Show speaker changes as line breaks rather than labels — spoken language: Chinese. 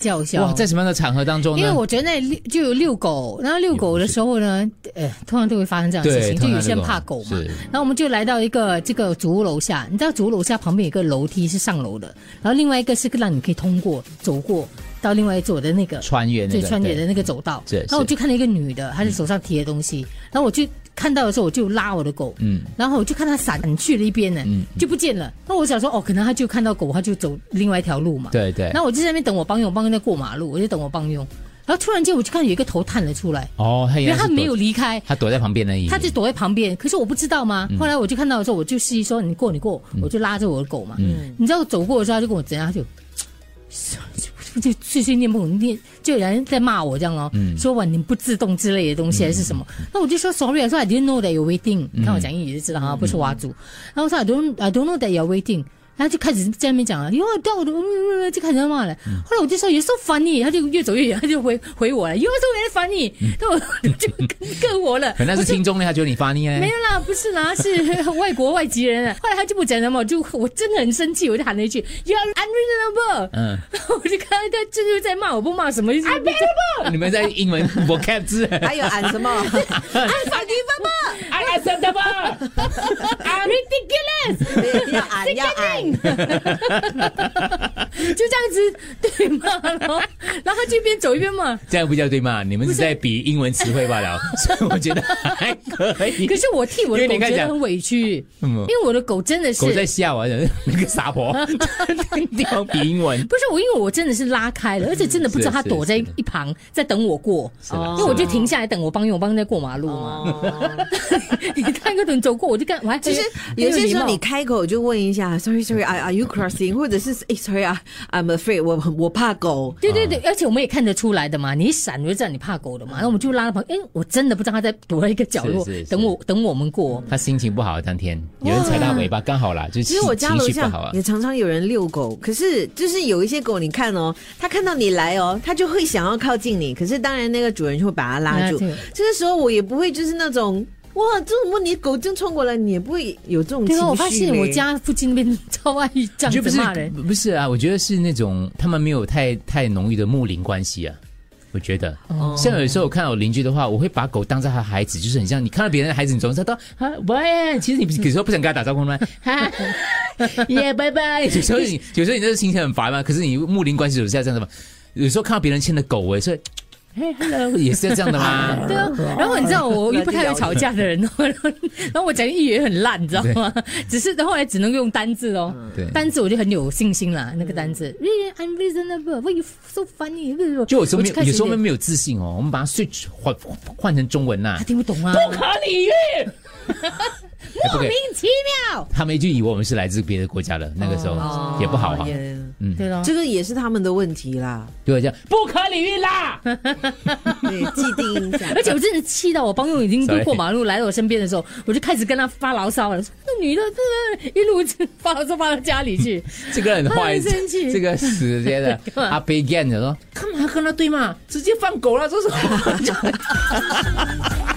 叫嚣。
哇，在什么样的场合当中呢？
因为我觉得那就有遛狗，然后遛狗的时候呢，通常都会发生这样的事情，就有些人怕狗嘛。然后我们就来到一个这个主屋楼下，你知道主屋楼下旁边有一个楼梯是上楼的，然后另外一个是让你可以通过走过到另外一座的那个
穿越
的那个走道。然后我就看到一个女的，她是手上提的东西，然后我就看到的时候我就拉我的狗，然后我就看它闪去了一边呢，就不见了。那我想说，可能它就看到狗，它就走另外一条路嘛。
对。
然后我就在那边等我帮佣在过马路，我就等我帮佣。然后突然间我就看有一个头探了出来，因为他没有离开，
他躲在旁边而已，
他就躲在旁边。可是我不知道吗？后来我就看到的时候，我就示意说你过，我就拉着我的狗嘛。你知道我走过的时候，他就跟我怎样，他就碎碎念不念，就有人在骂我这样说哇你不自动之类的东西还是什么。那我就说 sorry， 我说 I didn't know that you're waiting。你看我讲英语就知道哈，不是挖族。然后我说 I don't know that you're waiting。他就开始在那边讲了，掉我的，就开始在骂了。后来我就说 You're so funny， 他就越走越远，他就回我了 You're so very funny。那我就更火了。
可能是听众呢，他觉得你funny
没有啦，不是啦，是外籍人啊。后来他就不讲了嘛，我真的很生气，我就喊了一句 You're unreasonable。然后我就看到他就是在骂我，不骂什么
unbearable。你们在英文 vocab 字
还有喊什么
unforgivable。I'm ridiculous。
要喊。
就这样子对骂咯，然后他就一边走一边骂，
这样不叫对骂，你们是在比英文词汇罢了，所以我觉得还可以。
可是我替我的狗觉得很委屈，因为我的狗真的是
狗在吓我，那个傻婆，地方比英文
不是我，因为我真的是拉开了，而且真的不知道他躲在一旁在等我过，因为我就停下来等我帮在过马路嘛。你看个人走过，我就看，我还
其实有些时候你开口就问一下 ，Sorry，Are you crossing？ 或者是Sorry，I'm afraid， 我怕狗。
对，而且我们也看得出来的嘛，你一闪我就知道你怕狗的嘛。那我们就拉到旁边，我真的不知道他在躲在一个角落等我们过。
他心情不好，当天有人踩他尾巴，刚好啦，就是
其实我家楼下也常常有人遛狗，可是就是有一些狗，你看他看到你来他就会想要靠近你，可是当然那个主人就会把他拉住。这个时候我也不会就是那种。哇，这种问题狗真冲过来，你也不会有这种情绪。
对，我发现我家附近那边超爱这样子骂人。
不是啊，我觉得是那种他们没有太浓郁的睦邻关系啊。我觉得，像有时候我看到我邻居的话，我会把狗当成他的孩子，就是很像你看到别人的孩子，你总是说喂，其实你有时候不想跟他打招呼吗？耶，拜拜。有时候你那个心情很烦嘛，可是你睦邻关系有时候这样的嘛。有时候看到别人牵的狗，所以。Hello， 也是这样的吗？
对啊，然后你知道我又不太会吵架的人，然后我讲英语也很烂，你知道吗？只是后来只能用单字
对，
单字我就很有信心啦。那个单字 ，unreasonable，why you so funny？
就有时候没有自信我们把它 switch 换成中文呐，
他听不懂啊，
不可理喻。
莫名其妙，
他们就以为我们是来自别的国家的，那个时候也不好哈。
对咯，
这个也是他们的问题啦。
对，这样不可理喻啦。
对，既定印象。
而且我真的气到我帮佣已经过马路来到我身边的时候，我就开始跟他发牢骚了。那女的一路发牢骚发到家里去，
这个很坏，
生气，
这个死街的阿贝干的说，干嘛跟他对骂，直接放狗了，这是。